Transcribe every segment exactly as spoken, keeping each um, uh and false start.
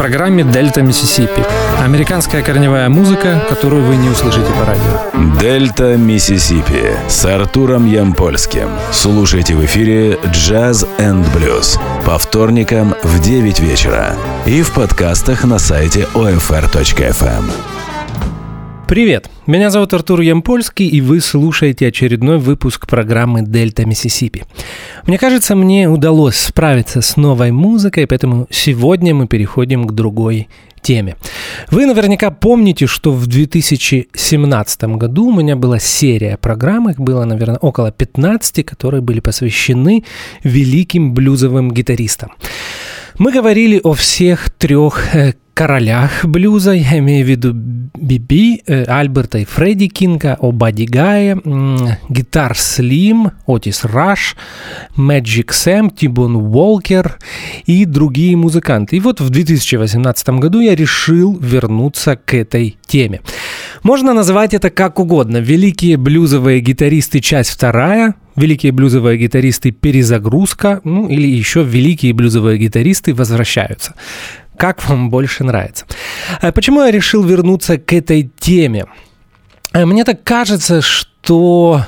программе «Дельта Миссисипи». Американская корневая музыка, которую вы не услышите по радио. «Дельта Миссисипи» с Артуром Ямпольским. Слушайте в эфире «Джаз энд блюз» по вторникам в девять вечера и в подкастах на сайте о эф эр точка эф эм. Привет, меня зовут Артур Ямпольский, и вы слушаете очередной выпуск программы «Дельта Миссисипи». Мне кажется, мне удалось справиться с новой музыкой, поэтому сегодня мы переходим к другой теме. Вы наверняка помните, что в две тысячи семнадцатом году у меня была серия программ, их было, наверное, около пятнадцати, которые были посвящены великим блюзовым гитаристам. Мы говорили о всех трех королях блюза, я имею в виду Би-Би, Альберта и Фредди Кинга, о Бадди Гае, Гитар Слим, Отис Раш, Мэджик Сэм, Ти-Бон Уолкер и другие музыканты. И вот в две тысячи восемнадцатом году я решил вернуться к этой теме. Можно назвать это как угодно. Великие блюзовые гитаристы, часть вторая, великие блюзовые гитаристы, перезагрузка, ну или еще великие блюзовые гитаристы возвращаются. Как вам больше нравится? Почему я решил вернуться к этой теме? Мне так кажется, что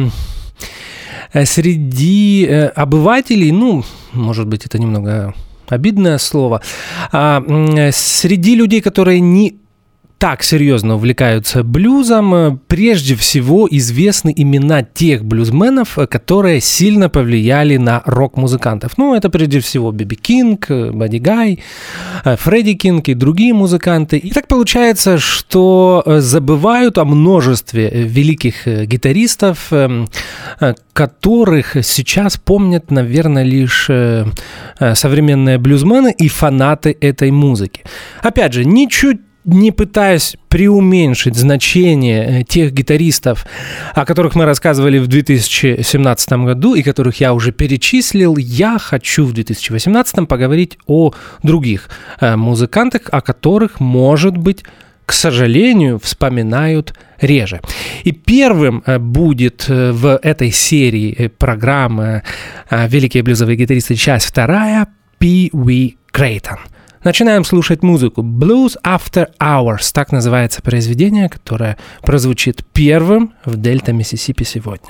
среди обывателей, ну, может быть, это немного обидное слово, среди людей, которые не так серьезно увлекаются блюзом, прежде всего известны имена тех блюзменов, которые сильно повлияли на рок-музыкантов. Ну, это прежде всего Би-Би Кинг, Бадди Гай, Фредди Кинг и другие музыканты. И так получается, что забывают о множестве великих гитаристов, которых сейчас помнят, наверное, лишь современные блюзмены и фанаты этой музыки. Опять же, ничуть не пытаясь преуменьшить значение тех гитаристов, о которых мы рассказывали в две тысячи семнадцатом году и которых я уже перечислил, я хочу в две тысячи восемнадцатом поговорить о других музыкантах, о которых, может быть, к сожалению, вспоминают реже. И первым будет в этой серии программы «Великие блюзовые гитаристы. Часть вторая» Пи Уи Крейтон. Начинаем слушать музыку. Blues After Hours. Так называется произведение, которое прозвучит первым в Дельта Миссисипи сегодня.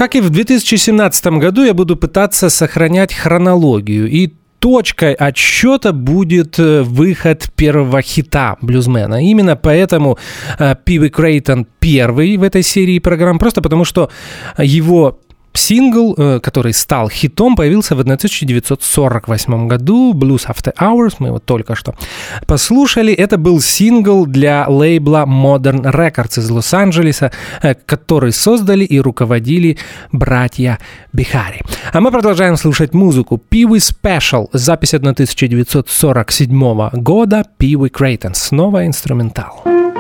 Как и в две тысячи семнадцатом году, я буду пытаться сохранять хронологию. И точкой отсчета будет выход первого хита блюзмена. Именно поэтому Пи Уи Крейтон первый в этой серии программ, просто потому что его сингл, который стал хитом, появился в тысяча девятьсот сорок восьмом году, Blues After Hours, мы его только что послушали. Это был сингл для лейбла Modern Records из Лос-Анджелеса, который создали и руководили братья Бихари. А мы продолжаем слушать музыку. Пи Уи Special, запись тысяча девятьсот сорок седьмого года, Пи Уи Крейтон, снова инструментал.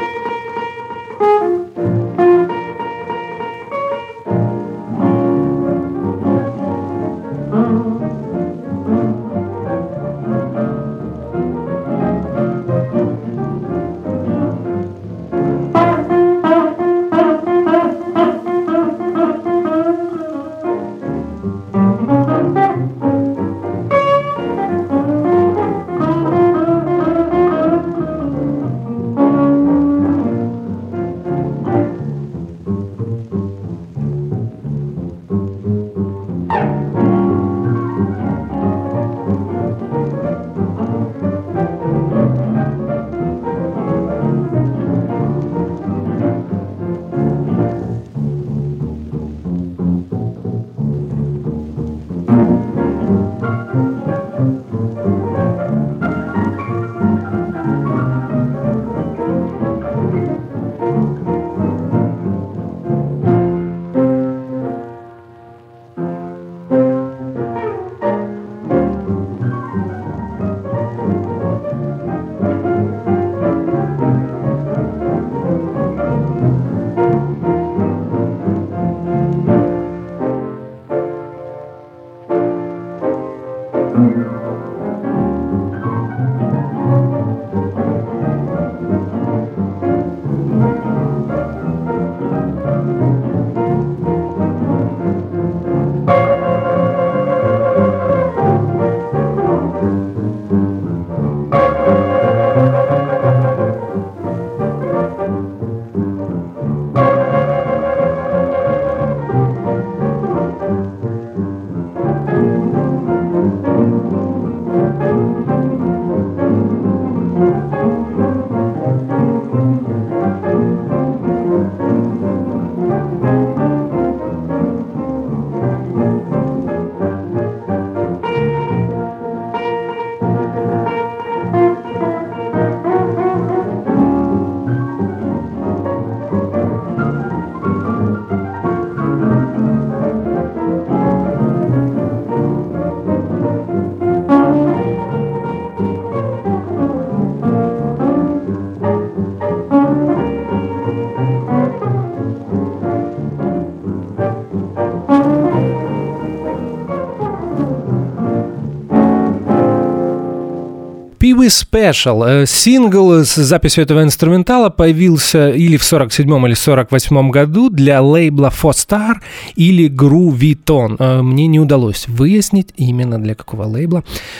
Пи Уи Special. Сингл с записью этого инструментала появился или в сорок седьмом, или сорок восьмом году для лейбла Four Star или Grooviton. Мне не удалось выяснить именно для какого лейбла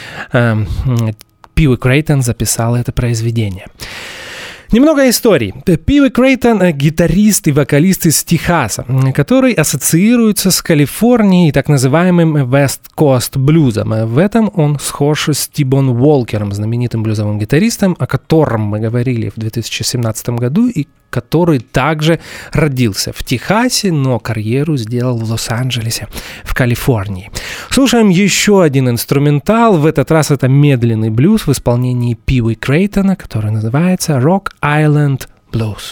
Пи Уи Крейтон записал это произведение. Немного историй. Пи Уи Крейтон – гитарист и вокалист из Техаса, который ассоциируется с Калифорнией и так называемым West Coast блюзом. В этом он схож с Ти-Бон Уолкером, знаменитым блюзовым гитаристом, о котором мы говорили в две тысячи семнадцатом году и который также родился в Техасе, но карьеру сделал в Лос-Анджелесе, в Калифорнии. Слушаем еще один инструментал. В этот раз это медленный блюз в исполнении Пи Уи Крейтона, который называется Rock Island Blues.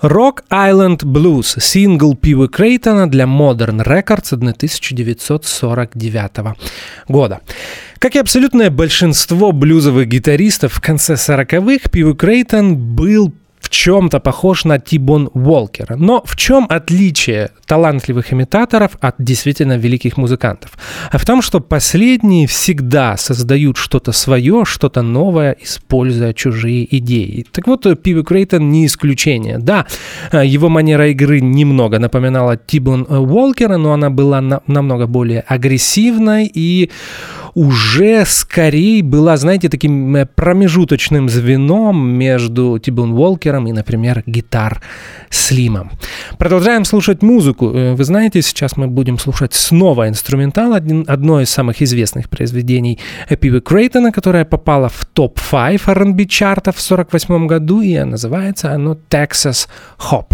Rock Island Blues, сингл Пиви Крейтона для Modern Records тысяча девятьсот сорок девятого года. Как и абсолютное большинство блюзовых гитаристов в конце сороковых, Пиви Крейтон был в чем-то похож на Ти-Бон Уолкера. Но в чем отличие талантливых имитаторов от действительно великих музыкантов? А в том, что последние всегда создают что-то свое, что-то новое, используя чужие идеи. Так вот, Пиви Крейтон не исключение. Да, его манера игры немного напоминала Ти-Бон Уолкера, но она была на- намного более агрессивной и уже скорее была, знаете, таким промежуточным звеном между Ти-Бон Уолкером и, например, Гитар Слимом. Продолжаем слушать музыку. Вы знаете, сейчас мы будем слушать снова инструментал, один, одно из самых известных произведений Пиви Крейтона, которое попало в топ пять ар энд би чартов в сорок восьмом году, и называется оно «Texas Hop».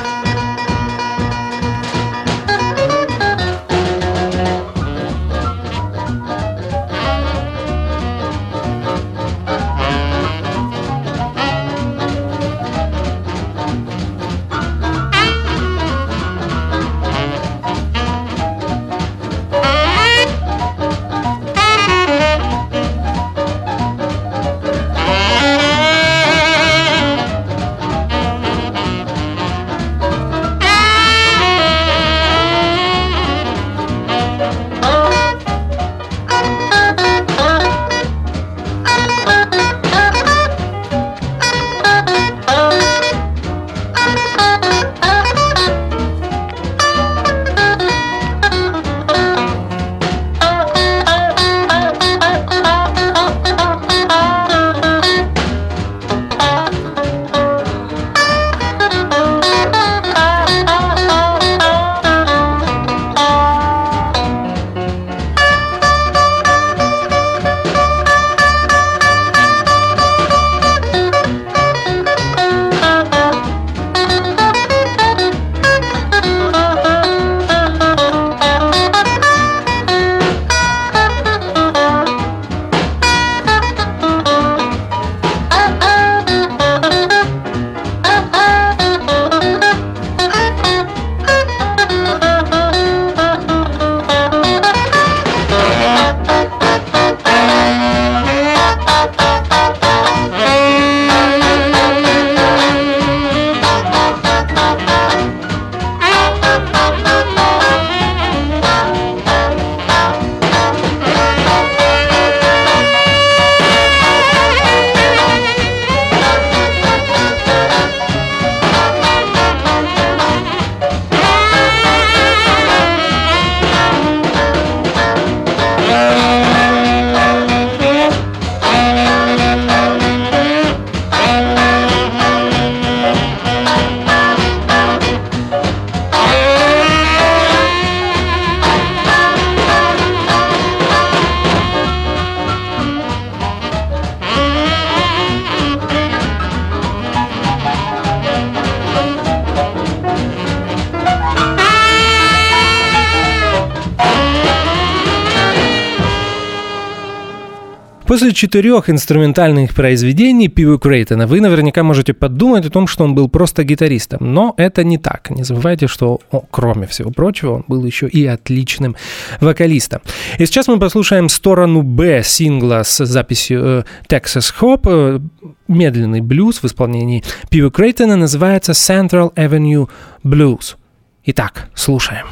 После четырех инструментальных произведений Пиви Крейтона вы наверняка можете подумать о том, что он был просто гитаристом. Но это не так. Не забывайте, что, о, кроме всего прочего, он был еще и отличным вокалистом. И сейчас мы послушаем сторону Б сингла с записью э, Texas Hop. Э, медленный блюз в исполнении Пиви Крейтона называется Central Avenue Blues. Итак, слушаем.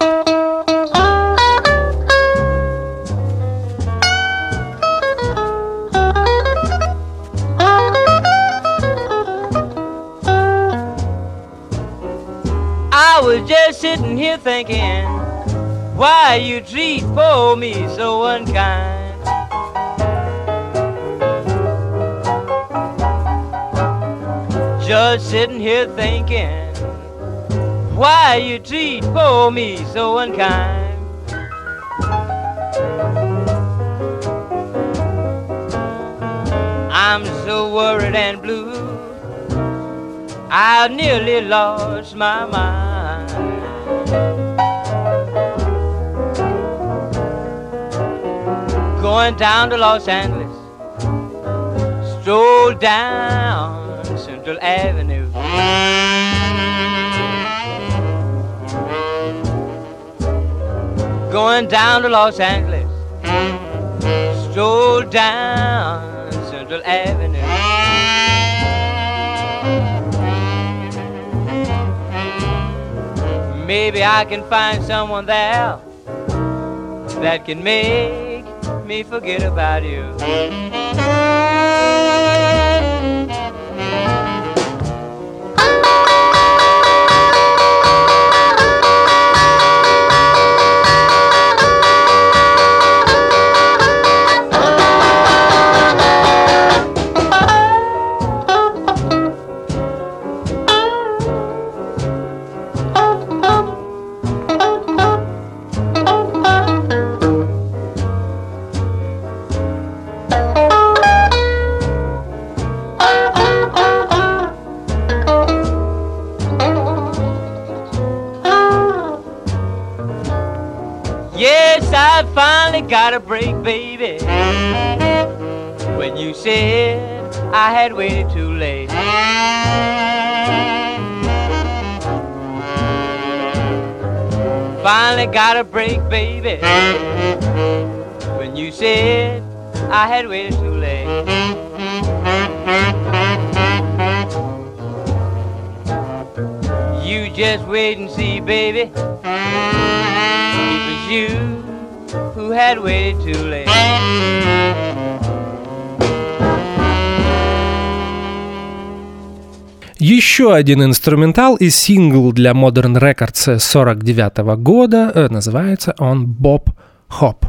I was just sitting here thinking, why you treat poor me so unkind. Just sitting here thinking, why you treat poor me so unkind. I'm so worried and blue, I nearly lost my mind. Going down to Los Angeles, stroll down Central Avenue. going down to Los Angeles. Stroll down Central Avenue. Maybe I can find someone there that can make me forget about you. I finally got a break, baby, when you said I had waited too late. Finally got a break, baby, when you said I had waited too late. You just wait and see, baby, it was you who had waited too late. Еще один инструментал и сингл для Modern Records сорок девятого года, называется он «Bob Hop».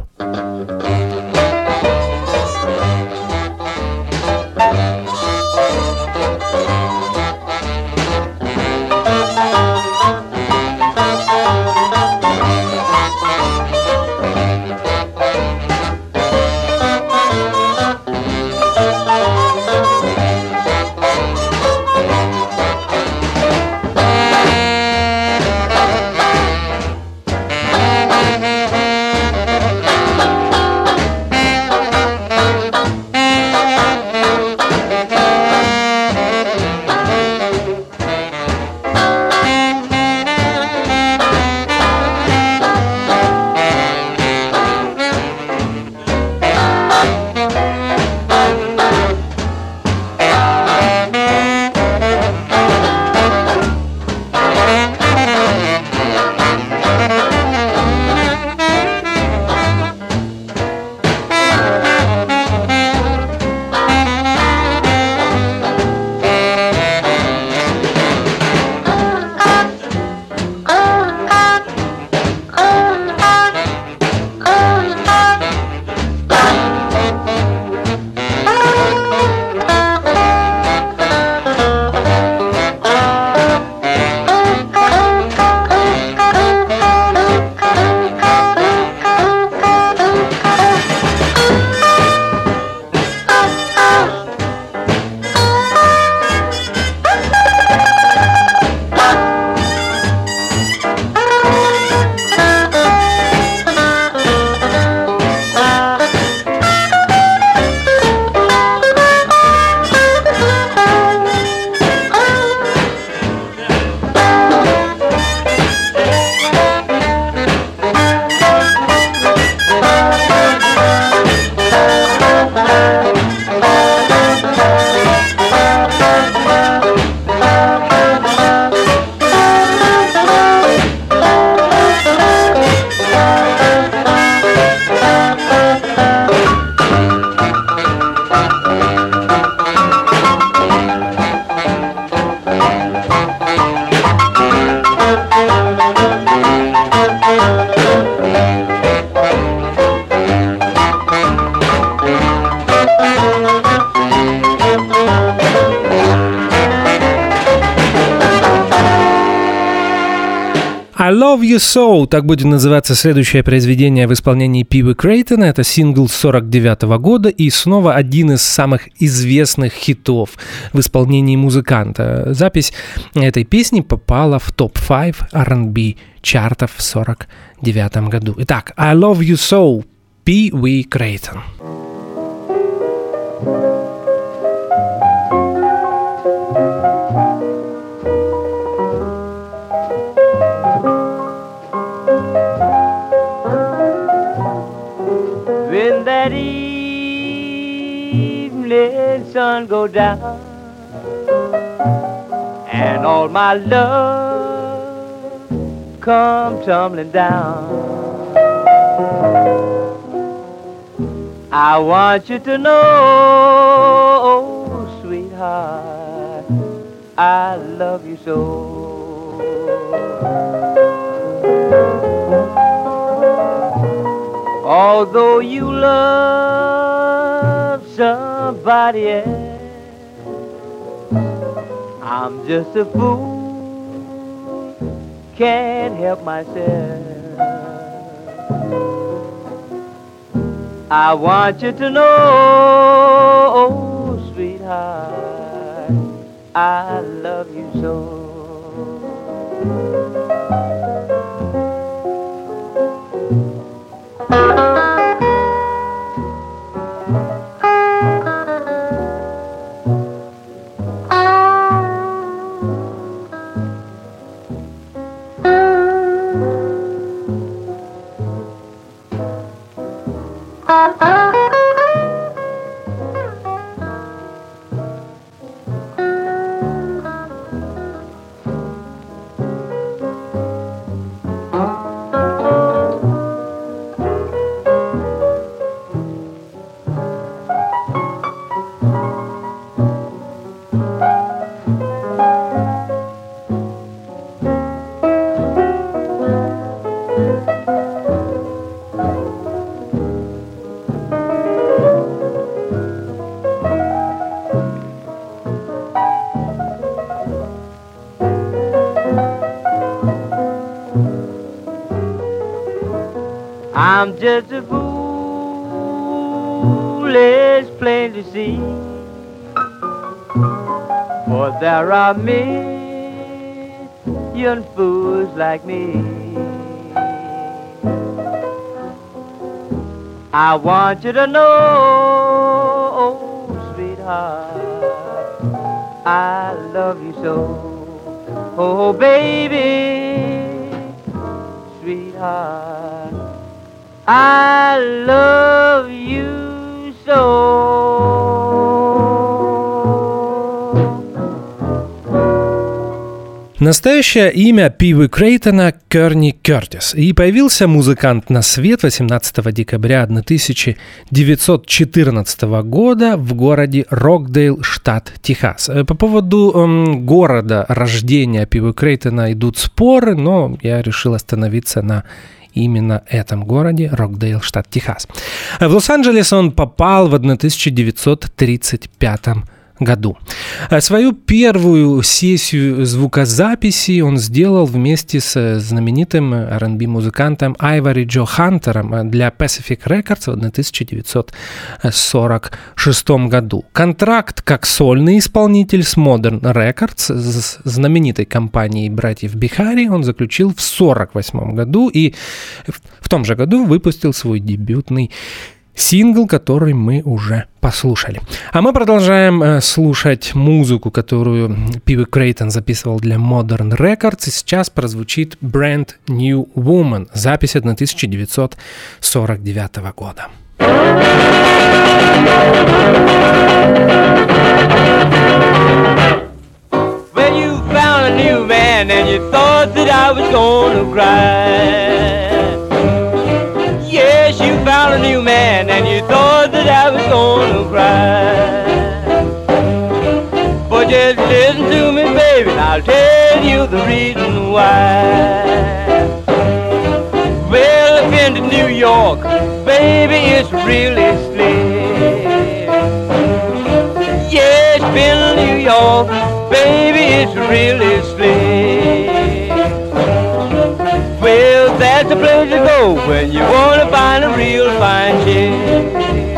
I Love You So, так будет называться следующее произведение в исполнении Пиви Крейтона. Это сингл сорок девятого года и снова один из самых известных хитов в исполнении музыканта. Запись этой песни попала в топ пять ар энд би чартов в сорок девятом году. Итак, I Love You So, Пиви Крейтон. that evening sun go down, and all my love come tumbling down. I want you to know, oh, sweetheart, I love you so. Although you love somebody else, I'm just a fool, can't help myself. I want you to know, oh, sweetheart, I love you so. I'm just a fool, it's plain to see, for there are million fools like me. I want you to know, oh, sweetheart, I love you so. Oh, baby, sweetheart, I love you so. Настоящее имя Пиви Крейтона – Керни Кертис, и появился музыкант на свет восемнадцатого декабря тысяча девятьсот четырнадцатого года в городе Рокдейл, штат Техас. По поводу эм, города рождения Пиви Крейтона идут споры, но я решил остановиться на именно этом городе, Рокдейл, штат Техас. В Лос-Анджелес он попал в тысяча девятьсот тридцать пятом году. Свою первую сессию звукозаписи он сделал вместе с знаменитым ар энд би-музыкантом Айвори Джо Хантером для Pacific Records в тысяча девятьсот сорок шестом году. Контракт как сольный исполнитель с Modern Records, с знаменитой компанией братьев Бихари, он заключил в сорок восьмом году и в том же году выпустил свой дебютный сингл, который мы уже послушали. А мы продолжаем э, слушать музыку, которую Пиви Крейтон записывал для Modern Records, и сейчас прозвучит Brand New Woman, запись тысяча девятьсот сорок девятого года. When you found a new man and you thought that I was gonna cry. Yes, you found a new man and you thought that I was gonna cry. But just listen to me, baby, and I'll tell you the reason why. Well, I've been to New York, baby, it's really slick. Yes, been to New York, baby, it's really slick. Well, that's the place to go when you wanna find a real fine chick.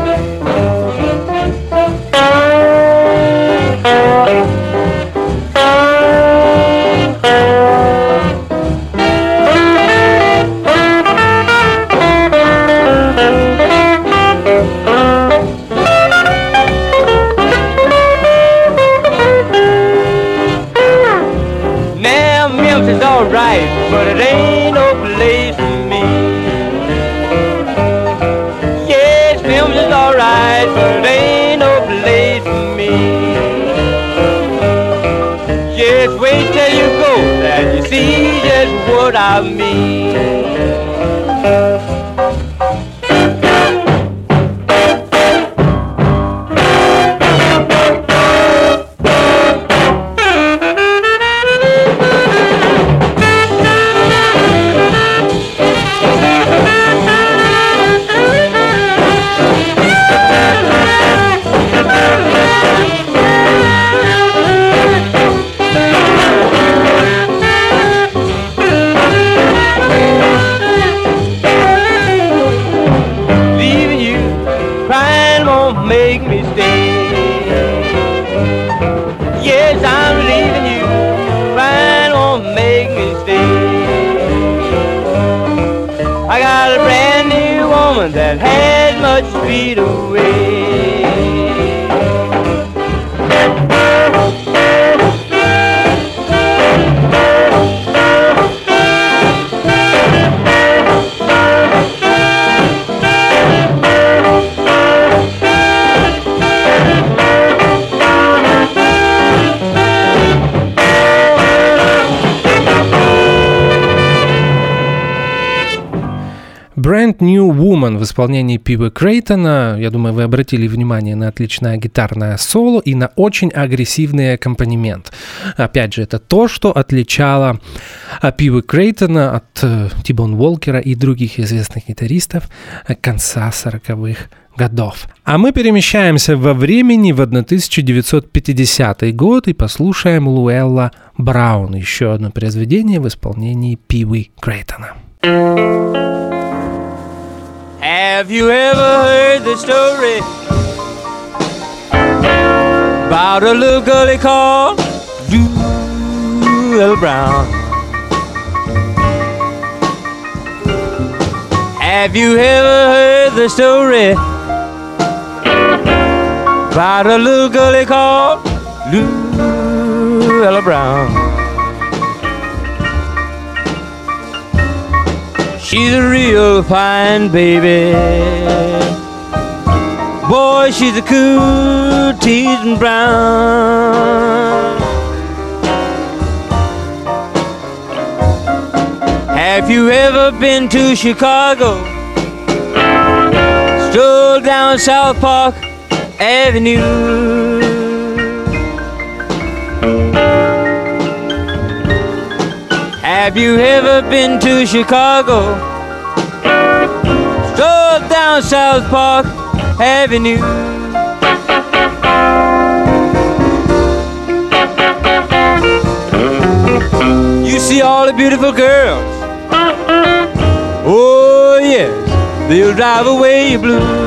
Now Memphis is alright, but it ain't no place for me. blues is alright, but it ain't no place for me. Just wait till you go, and you see just what I mean. Make me stay. Yes, I'm leaving you. Fine won't make me stay. I got a brand new woman that has much speed away. Brand New Woman в исполнении Пиви Крейтона. Я думаю, вы обратили внимание на отличное гитарное соло и на очень агрессивный аккомпанемент. Опять же, это то, что отличало Пиви Крейтона от Ти-Бон Уолкера и других известных гитаристов конца сороковых годов. А мы перемещаемся во времени в тысяча девятьсот пятидесятый год и послушаем Луэлла Браун, еще одно произведение в исполнении Пиви Крейтона. Have you ever heard the story about a little girlie called Luella Brown? Have you ever heard the story about a little girlie called Luella Brown? She's a real fine baby. Boy, she's a cool teasing brown. Have you ever been to Chicago? Strolled down South Park Avenue. Have you ever been to Chicago? Strolled down South Park Avenue. You see all the beautiful girls. Oh yes, they'll drive away your blues.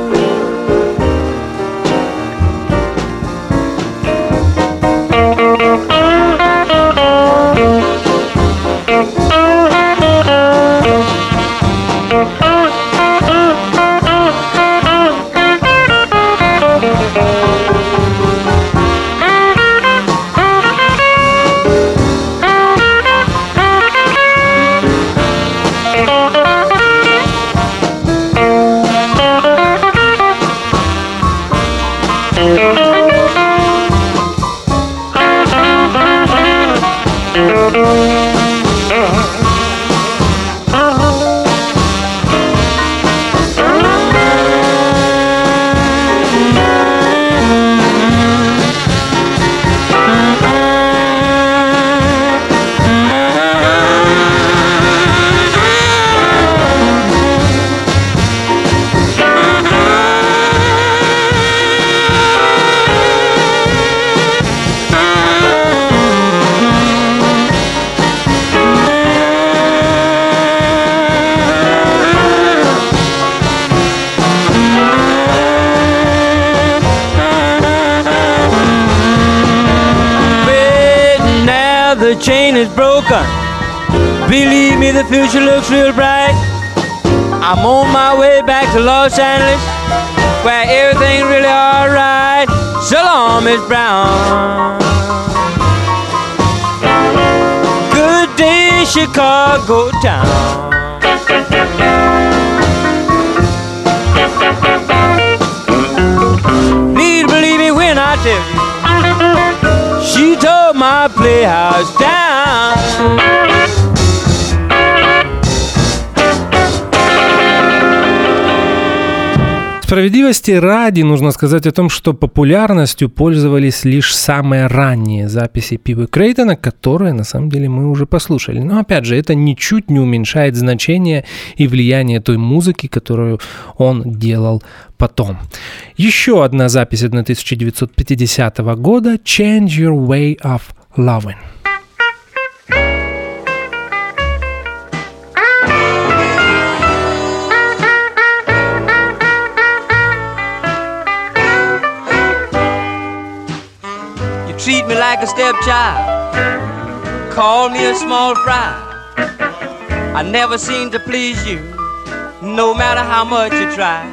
The chain is broken. Believe me, the future looks real bright. I'm on my way back to Los Angeles, where everything's really alright. So long, Miss Brown. Good day, Chicago town. house down. Справедливости ради нужно сказать о том, что популярностью пользовались лишь самые ранние записи Пиво Крейтона, которые на самом деле мы уже послушали. Но опять же, это ничуть не уменьшает значение и влияние той музыки, которую он делал потом. Еще одна запись тысяча девятьсот пятидесятого года «Change Your Way of Loving». Treat me like a stepchild, call me a small fry. I never seem to please you, no matter how much you try.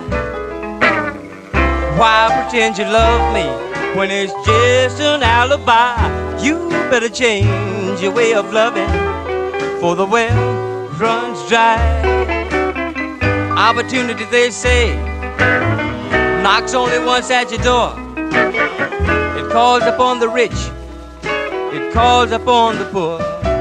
Why pretend you love me when it's just an alibi? You better change your way of loving, for the well runs dry. Opportunity, they say, knocks only once at your door. It calls upon the rich, it calls upon the poor.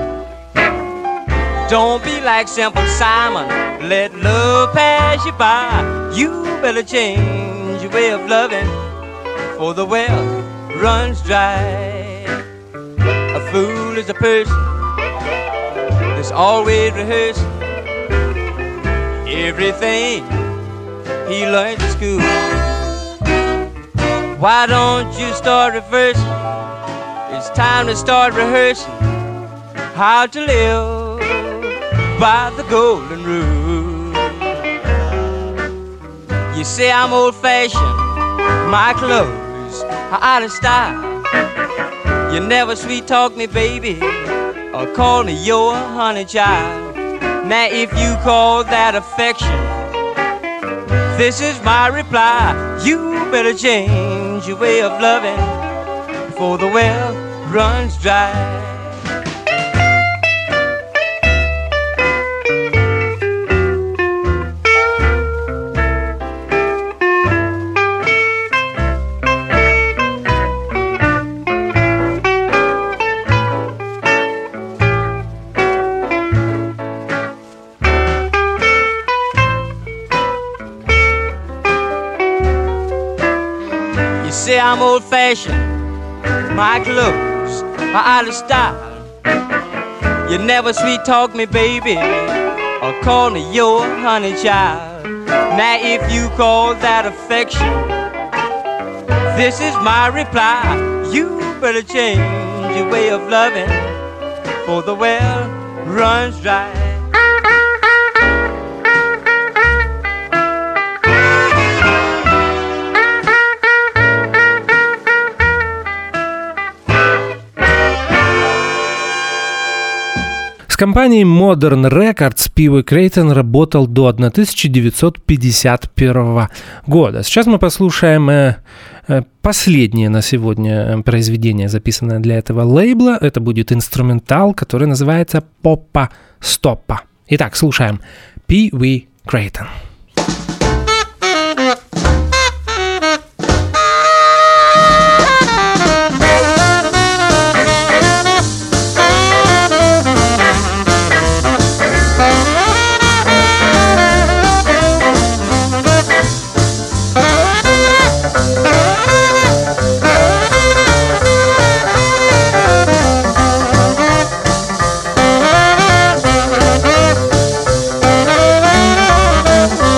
Don't be like Simple Simon, let love pass you by. You better change your way of loving, for the well runs dry. A fool is a person that's always rehearsing everything he learns at school. Why don't you start reversing? It's time to start rehearsing how to live by the golden rule. You say I'm old-fashioned, my clothes are out of style. You never sweet-talk me, baby, or call me your honey child. Now if you call that affection, this is my reply. You better change your way of loving, for the well runs dry. Say I'm old-fashioned, my clothes are out of style. You never sweet-talk me, baby, or call me your honey child. Now if you call that affection, this is my reply. You better change your way of loving, for the well runs dry. С компанией Modern Records Пиво Крейтон работал до тысяча девятьсот пятьдесят первого года. Сейчас мы послушаем э, э, последнее на сегодня произведение, записанное для этого лейбла. Это будет инструментал, который называется «Поппа Стоппа». Итак, слушаем Пиво Крейтон. Oh,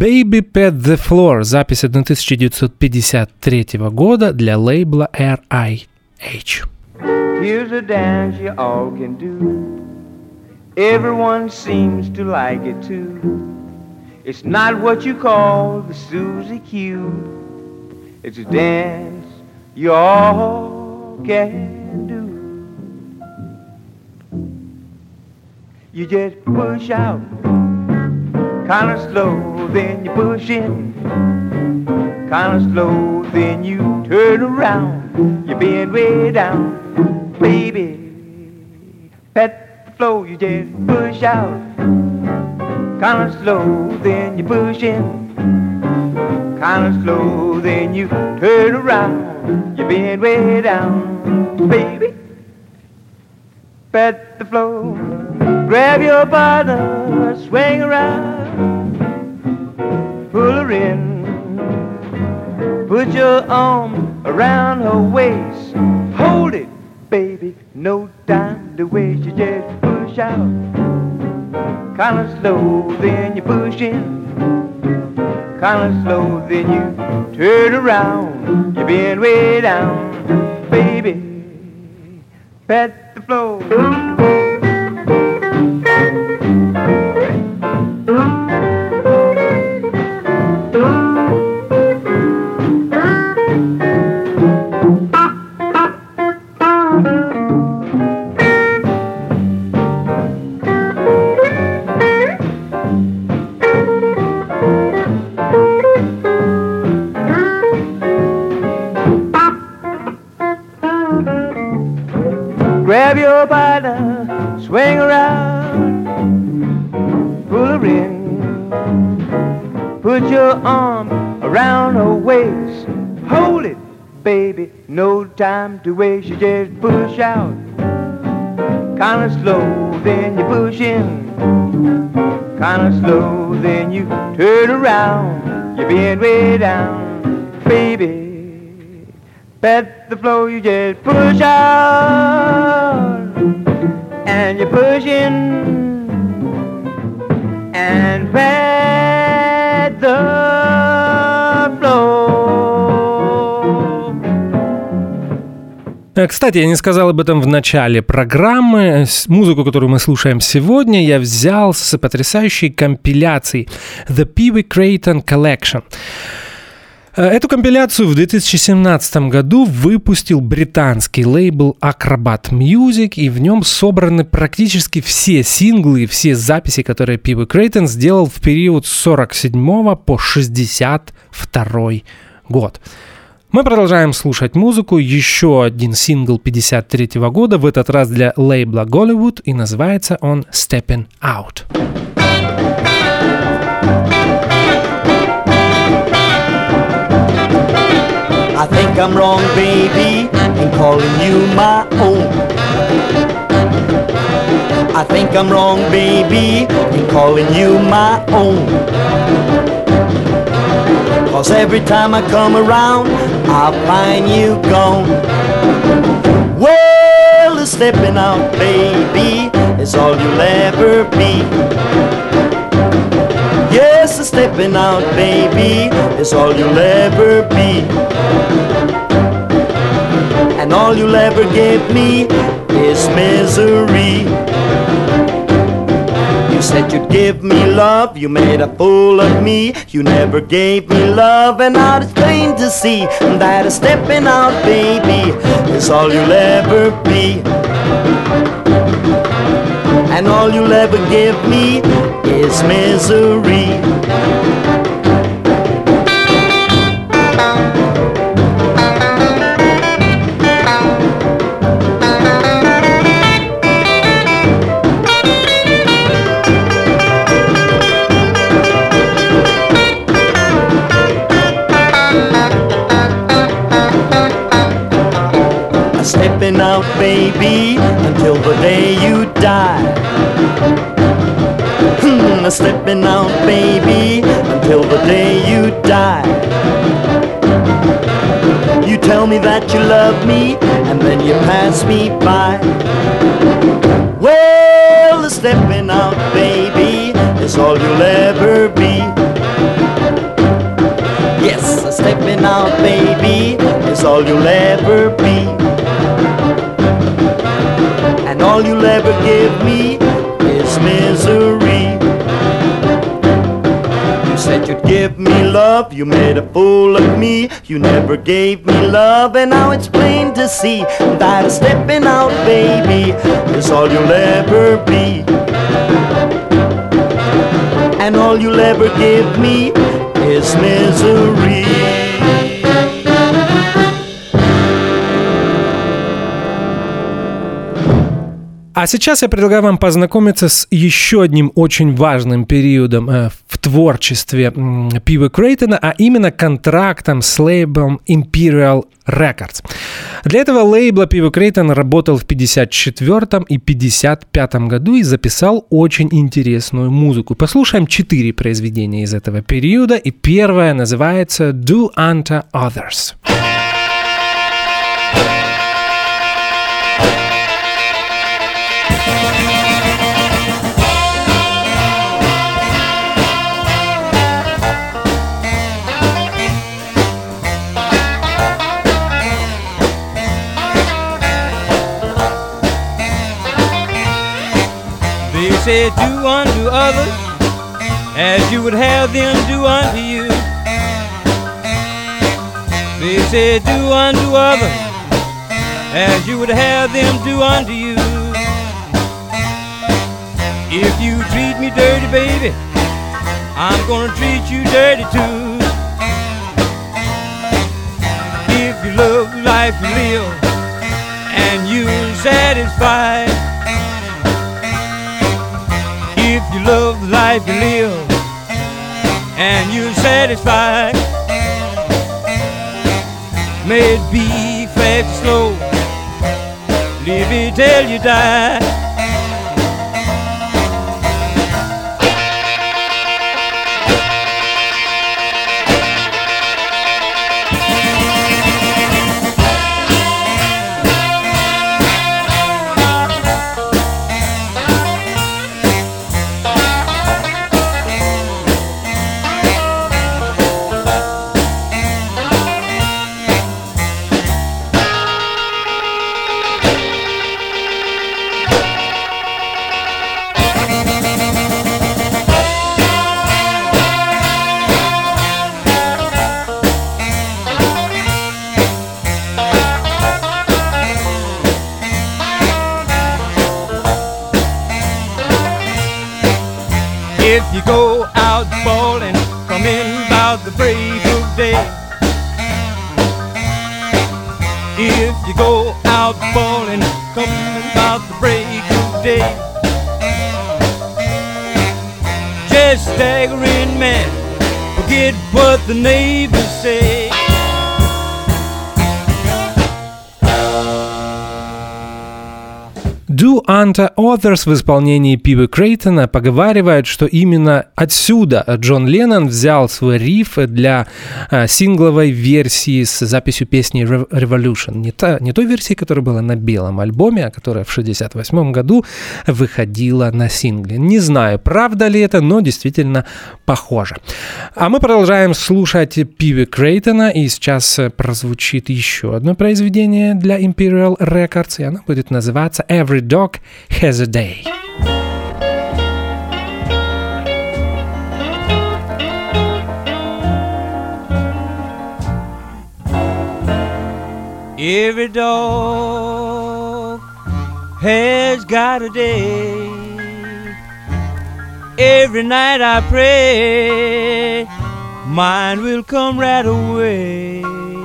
Baby Pet the Floor, запись тысяча девятьсот пятьдесят третьего года для лейбла эр ай эйч. Here's a dance you all can do. Everyone seems to like it too. It's not what you call the Susie Q. It's a dance you all can do. You just push out kinda slow, then you push in kinda slow, then you turn around. You bend way down, baby. Pet the flow, you just push out kinda slow, then you push in kinda slow, then you turn around. You bend way down, baby. Pet the flow. Grab your partner, swing around, pull her in, put your arm around her waist, hold it, baby, no time to waste. You just push out, kinda slow, then you push in, kinda slow, then you turn around, you bend way down, baby, pet the floor. Grab your partner, swing around, pull her in, put your arm around her waist, hold it, baby, no time to waste. You just push out, kinda slow, then you push in, kinda slow, then you turn around, you bend way down, baby. Pet the flow, you just push out, and you push in, and pet the flow. Кстати, я не сказал об этом в начале программы. Музыку, которую мы слушаем сегодня, я взял с потрясающей компиляции The Pee Wee Creighton Collection. Эту компиляцию в две тысячи семнадцатом году выпустил британский лейбл Acrobat Music, и в нем собраны практически все синглы и все записи, которые Pee Wee Creighton сделал в период с сорок седьмого по шестьдесят второй год. Мы продолжаем слушать музыку. Еще один сингл пятьдесят третьего года, в этот раз для лейбла Голливуд, и называется он «Steppin' Out». I think I'm wrong, baby, in calling you my own. I think I'm wrong, baby, in calling you my own. Cause every time I come around, I find you gone. Well, the stepping out, baby, is all you'll ever be. Yes, the stepping out, baby, is all you'll ever be. And all you'll ever give me is misery. You said you'd give me love, you made a fool of me. You never gave me love, and now it's plain to see that a stepping out, baby, is all you'll ever be. And all you'll ever give me is misery. Stepping out, baby, until the day you die. Hmm, stepping out, baby, until the day you die. You tell me that you love me, and then you pass me by. Well, the stepping out, baby, is all you'll ever be. ever be. And all you'll ever give me is misery. You said you'd give me love, you made a fool of me. You never gave me love, and now it's plain to see that a stepping out baby is all you'll ever be. And all you'll ever give me is misery. А сейчас я предлагаю вам познакомиться с еще одним очень важным периодом э, в творчестве э, Пиви Крейтона, а именно контрактом с лейблом Imperial Records. Для этого лейбла Пиви Крейтон работал в пятьдесят четвёртом и пятьдесят пятом году и записал очень интересную музыку. Послушаем четыре произведения из этого периода, и первое называется «Do Unto Others». They said, do unto others as you would have them do unto you. They said, do unto others as you would have them do unto you. If you treat me dirty, baby, I'm gonna treat you dirty too. If you love the life you live and you're satisfied, if you love the life you live and you're satisfied, may it be fast or slow, live it till you die. If you go out ballin', come in about the break of day. If you go out ballin', come in about the break of day. Just staggering, man, forget what the neighbors say. Do Unto Others в исполнении Пиви Крейтона поговаривают, что именно отсюда Джон Леннон взял свой риф для э, сингловой версии с записью песни Revolution. Не, та, не той версии, которая была на белом альбоме, а которая в шестьдесят восьмом году выходила на сингле. Не знаю, правда ли это, но действительно похоже. А мы продолжаем слушать Пиви Крейтона, и сейчас прозвучит еще одно произведение для Imperial Records, и оно будет называться Every Dog Has a Day. Every dog has got a day. Every night I pray mine will come right away.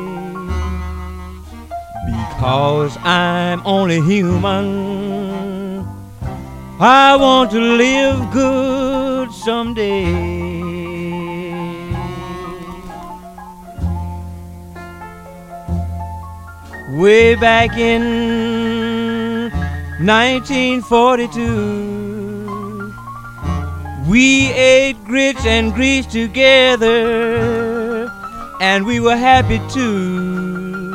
Because I'm only human, I want to live good someday. Way back in nineteen forty-two, we ate grits and grease together, and we were happy too.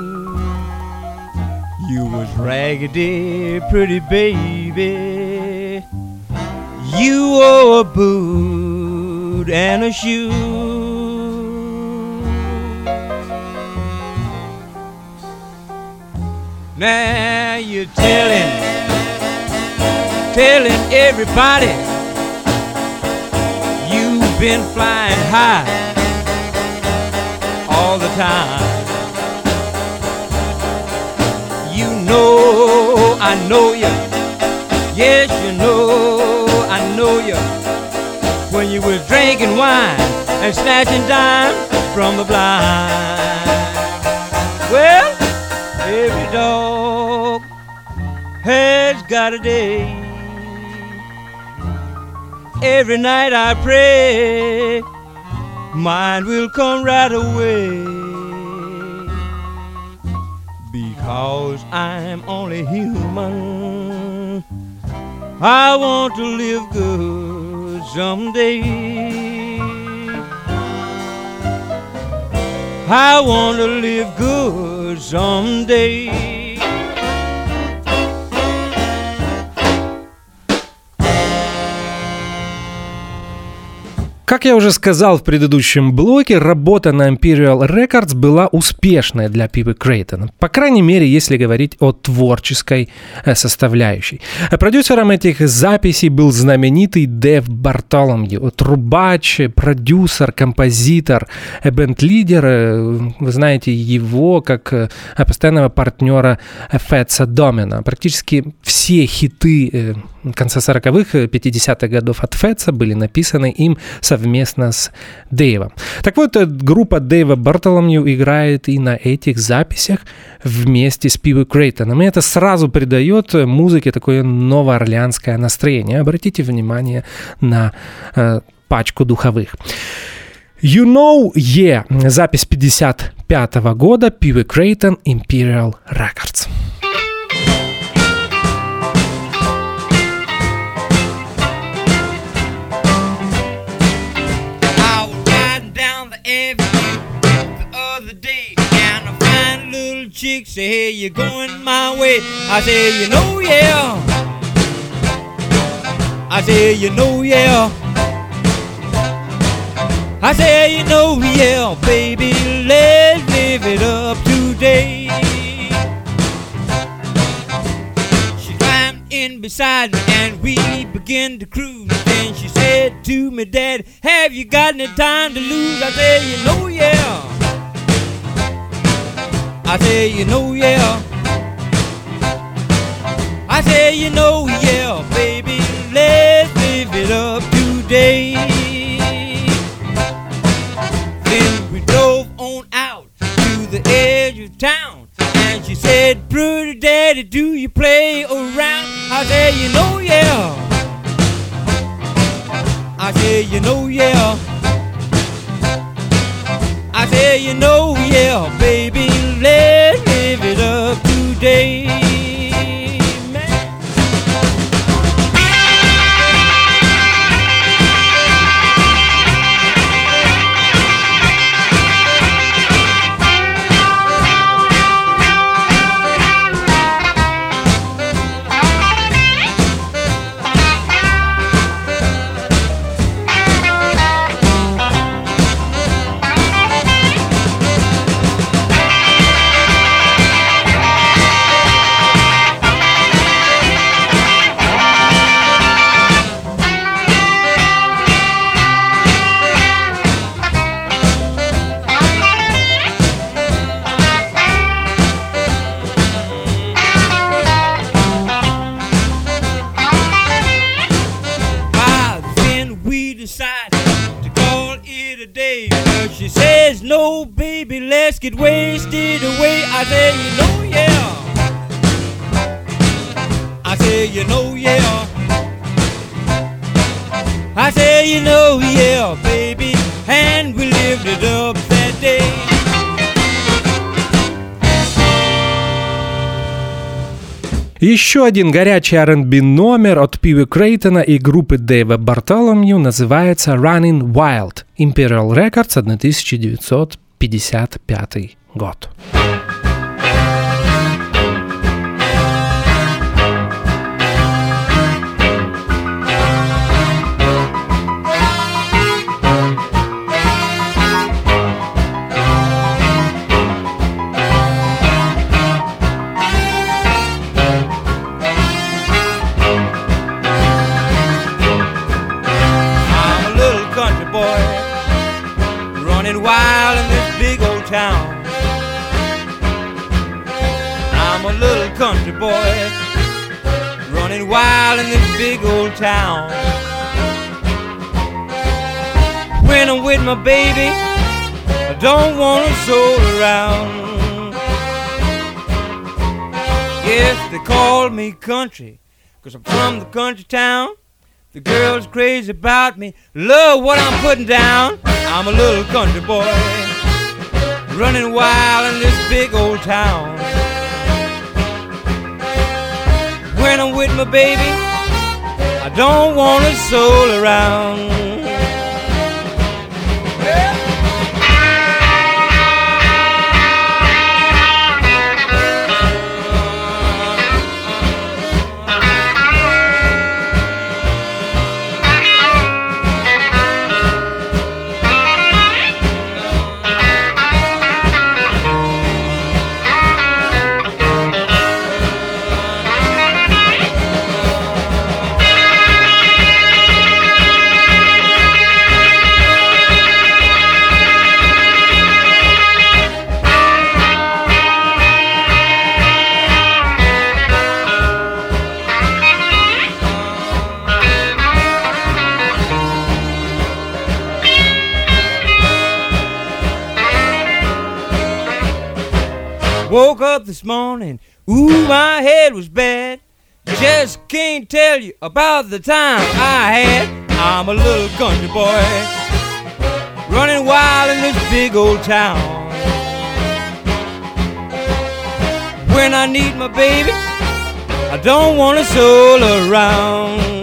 You was raggedy, pretty baby. You wore a boot and a shoe. Now you're telling, telling everybody you've been flying high all the time. You know I know you, yes you know I know you, when you was drinking wine and snatching dimes from the blind. Well, every dog has got a day. Every night I pray mine will come right away, because I'm only human. I want to live good someday. I want to live good someday. Как я уже сказал в предыдущем блоке, работа на Imperial Records была успешной для Пипы Крейтона. По крайней мере, если говорить о творческой составляющей. Продюсером этих записей был знаменитый Дэйв Бартоломью. Трубач, продюсер, композитор, бенд-лидер. Вы знаете его как постоянного партнера Фэтса Домина. Практически все хиты конца сороковых, пятидесятых годов от Фэтса были написаны им совместно с Дэйвом. Так вот, группа Дэйва Бартоломью играет и на этих записях вместе с Пипой Крейтоном. И это сразу придает музыке такое новоорлеанское настроение. Обратите внимание на э, пачку духовых. You Know Yeah. Запись пятьдесят пятого года. Пипа Крейтон, Imperial Records. Chick say, hey, you're going my way. I say, you know, yeah. I say, you know, yeah. I say, you know, yeah, baby, let's live it up today. She climbed in beside me and we began to cruise. Then she said to me, Dad, have you got any time to lose? I said, you know, yeah. I say, you know, yeah. I say, you know, yeah, baby, let's live it up today. Then we drove on out to the edge of town, and she said, pretty daddy, do you play around? I say, you know, yeah. I say, you know, yeah. I say, you know, yeah, baby, let's live it up today, man. No, baby, let's get wasted away. I say, you know, yeah. I say, you know, yeah. I say, you know, yeah, baby, and we lived it up that day. Еще один горячий ар энд би номер от Пипы Крейтона и группы Дэйва Бартоломью называется Running Wild. Imperial Records, тысяча девятьсот пятьдесят пятый год. town. I'm a little country boy running wild in this big old town. When I'm with my baby, I don't want to soul around. Yes, they call me country, 'cause I'm from the country town. The girl's crazy about me, love what I'm putting down. I'm a little country boy running wild in this big old town. When I'm with my baby, I don't want to soul around. Woke up this morning, ooh, my head was bad. Just can't tell you about the time I had. I'm a little country boy running wild in this big old town. When I need my baby, I don't want to soul around.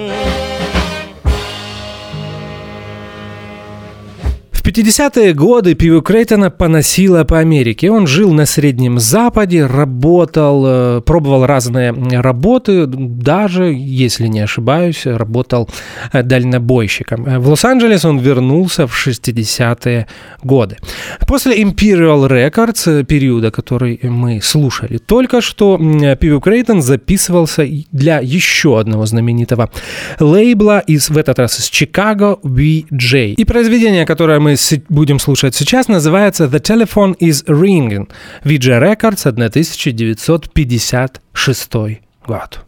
В пятидесятые годы Пиво Крейтона поносило по Америке. Он жил на Среднем Западе, работал, пробовал разные работы, даже, если не ошибаюсь, работал дальнобойщиком. В Лос-Анджелес он вернулся в шестидесятые годы. После Imperial Records, периода, который мы слушали только что, Пиво Крейтон записывался для еще одного знаменитого лейбла, из, в этот раз из Чикаго, ви джей. И произведение, которое мы будем слушать сейчас, называется «The Telephone is Ringing», ви джей Records, тысяча девятьсот пятьдесят шестой год.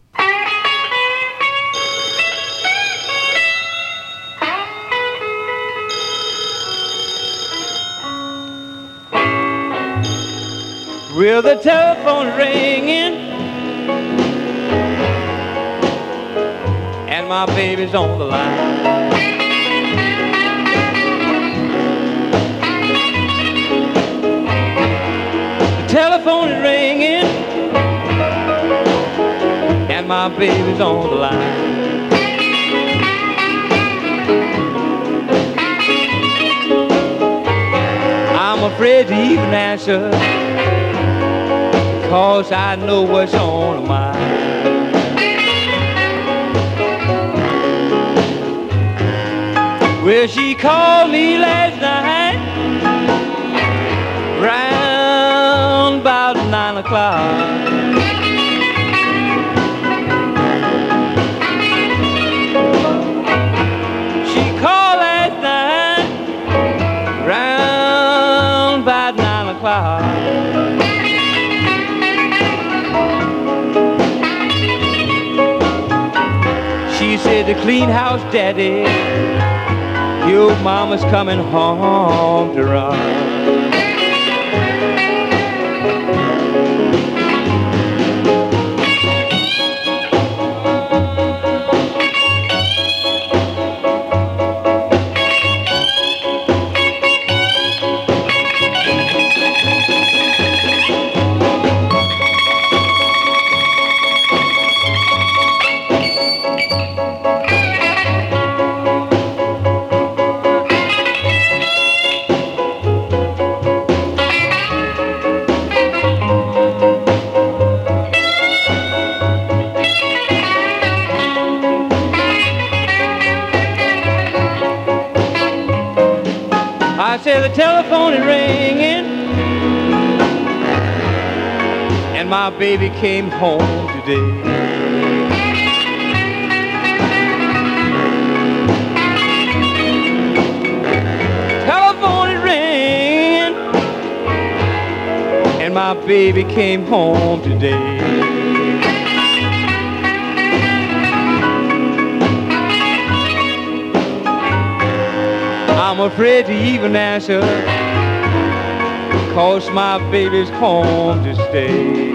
Well, the telephone's ringing and my baby's on the line. Telephone is ringing and my baby's on the line. I'm afraid to even answer, 'cause I know what's on her mind. Well, she called me last night round about nine o'clock. She called last night round about nine o'clock. She said, "The clean house, Daddy, your mama's coming home to rock." I said, "The telephone is ringing and my baby came home today." Telephone is ringing my baby came home today. I'm afraid to even answer, 'cause my baby's home to stay.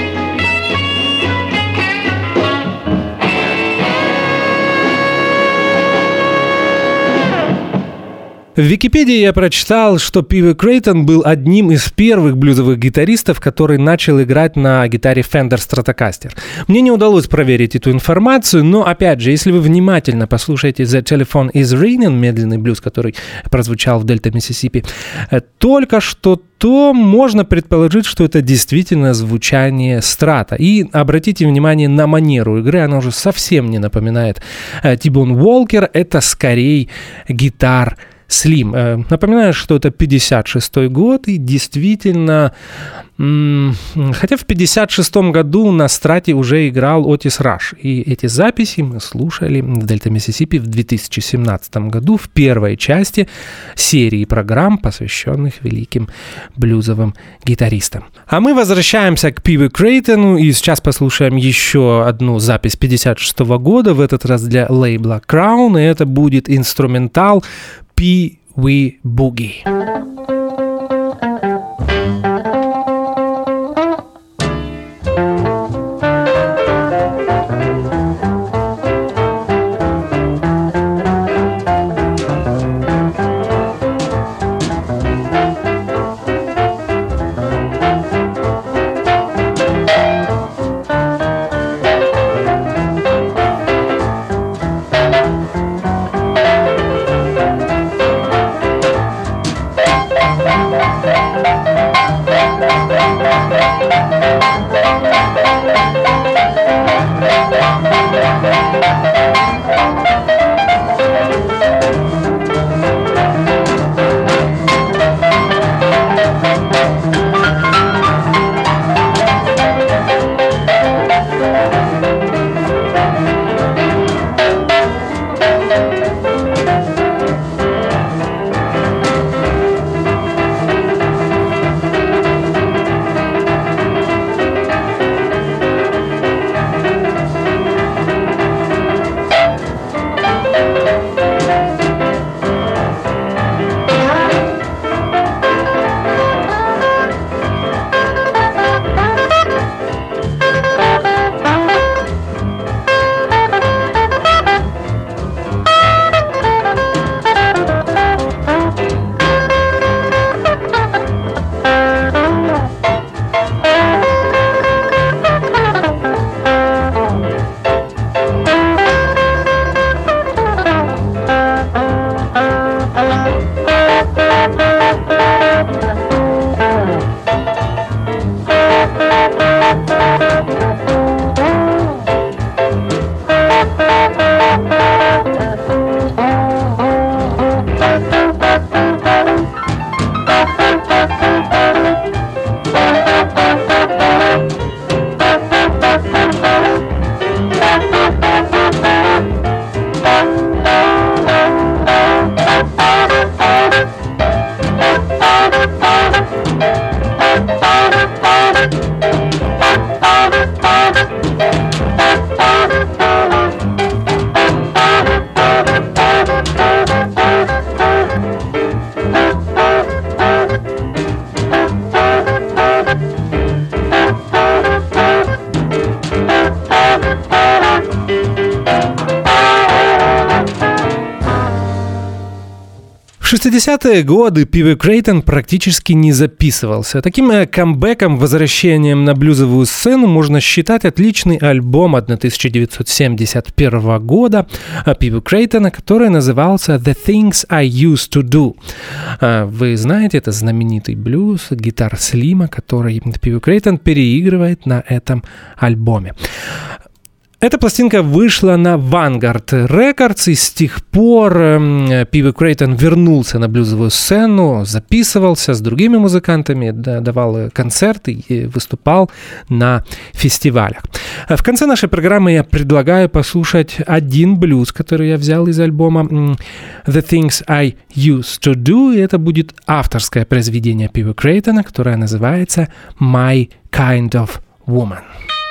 В Википедии я прочитал, что Пиви Крейтон был одним из первых блюзовых гитаристов, который начал играть на гитаре Fender Stratocaster. Мне не удалось проверить эту информацию, но, опять же, если вы внимательно послушаете The Telephone is Ringing, медленный блюз, который прозвучал в Дельта Миссисипи, только что, то можно предположить, что это действительно звучание страта. И обратите внимание на манеру игры, она уже совсем не напоминает T-Bone Walker, это скорее гитар Слим. Напоминаю, что это пятьдесят шестой год, и действительно, хотя в пятьдесят шестом году на страте уже играл Отис Раш, и эти записи мы слушали в Дельта Миссисипи в две тысячи семнадцатом году в первой части серии программ, посвященных великим блюзовым гитаристам. А мы возвращаемся к Пиви Крейтону, и сейчас послушаем еще одну запись пятьдесят шестого года, в этот раз для лейбла Crown, и это будет инструментал Pee Wee Boogie. В шестидесятые годы Пиви Крейтон практически не записывался. Таким камбэком, возвращением на блюзовую сцену можно считать отличный альбом тысяча девятьсот семьдесят первого года Пиви Крейтона, который назывался «The Things I Used to Do». Вы знаете, это знаменитый блюз, гитар Слима, который Пиви Крейтон переигрывает на этом альбоме. Эта пластинка вышла на Vanguard Records, и с тех пор Пи Ви Крейтон вернулся на блюзовую сцену, записывался с другими музыкантами, давал концерты и выступал на фестивалях. В конце нашей программы я предлагаю послушать один блюз, который я взял из альбома The Things I Used to Do, и это будет авторское произведение Пи Ви Крейтона, которое называется My Kind of Woman.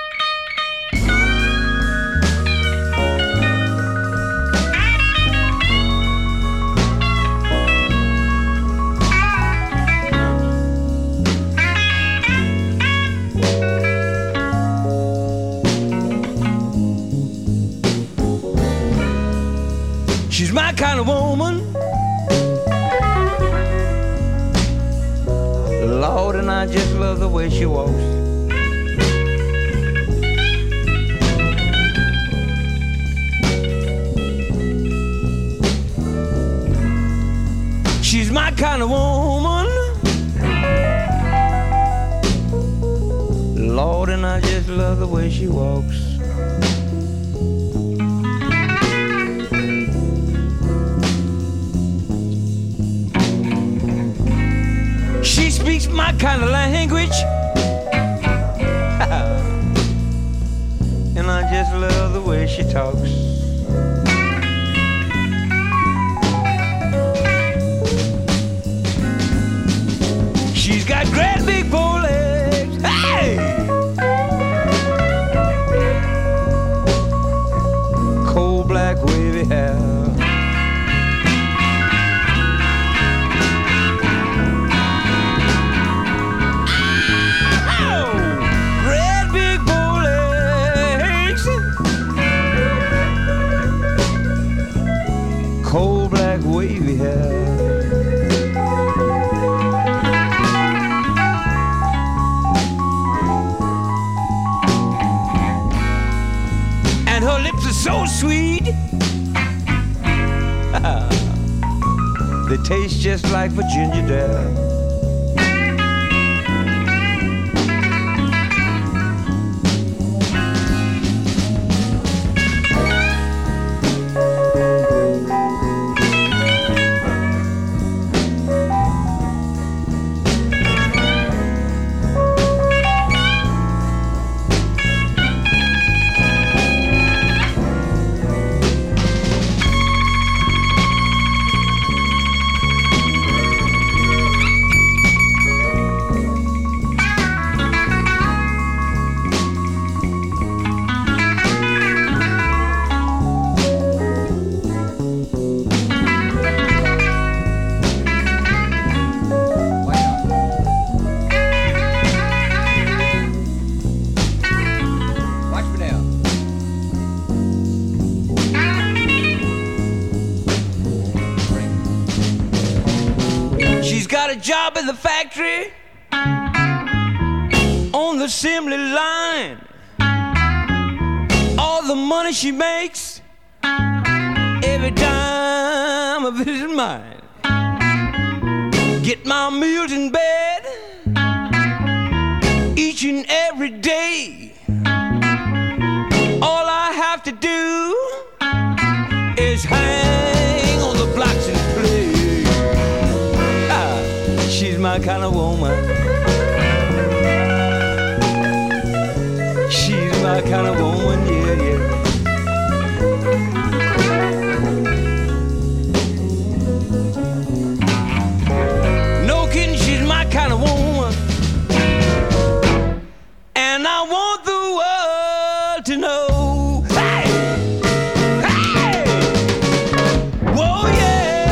She's my kind of woman, Lord, and I just love the way she walks. She's my kind of woman, Lord, and I just love the way she walks. She speaks my kind of language, and I just love the way she talks. She's got great big bow legs, hey! Cold black wavy hair. Cold black wavy hair. And her lips are so sweet, they taste just like Virginia dare. Job in the factory on the assembly line. All the money she makes, every dime of it is mine. Get my meals in bed each and every day. All I have to do is hang on the blocks and play. She's my kind of woman. She's my kind of woman, yeah, yeah. No kidding, she's my kind of woman. And I want the world to know. Hey! Hey! Whoa, yeah!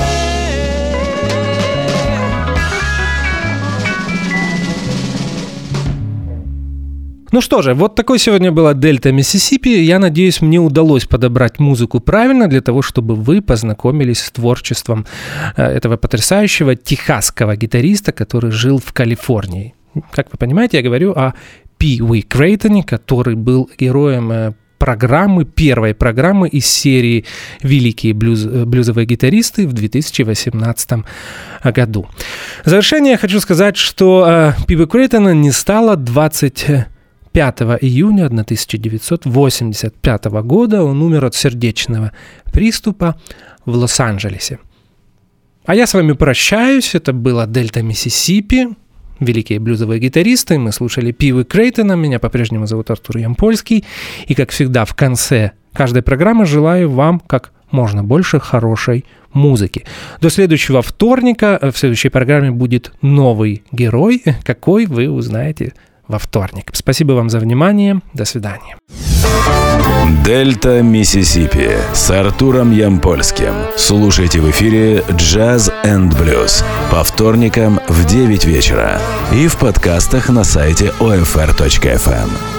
Ну что же, вот такой сегодня была Дельта Миссисипи. Я надеюсь, мне удалось подобрать музыку правильно для того, чтобы вы познакомились с творчеством этого потрясающего техасского гитариста, который жил в Калифорнии. Как вы понимаете, я говорю о Пи Ви Крейтоне, который был героем программы, первой программы из серии «Великие блюз, блюзовые гитаристы» в две тысячи восемнадцатом году. В завершение я хочу сказать, что Пи Ви Крейтона не стало двадцать пятого июня тысяча девятьсот восемьдесят пятого года. Он умер от сердечного приступа в Лос-Анджелесе. А я с вами прощаюсь. Это было «Дельта Миссисипи». Великие блюзовые гитаристы. Мы слушали Пивы Крейтона. Меня по-прежнему зовут Артур Ямпольский. И, как всегда, в конце каждой программы желаю вам как можно больше хорошей музыки. До следующего вторника. В следующей программе будет новый герой. Какой, вы узнаете во вторник. Спасибо вам за внимание. До свидания. Дельта Миссисипи с Артуром Ямпольским. Слушайте в эфире Jazz энд Blues по вторникам в девять вечера и в подкастах на сайте о эф эр точка эф эм.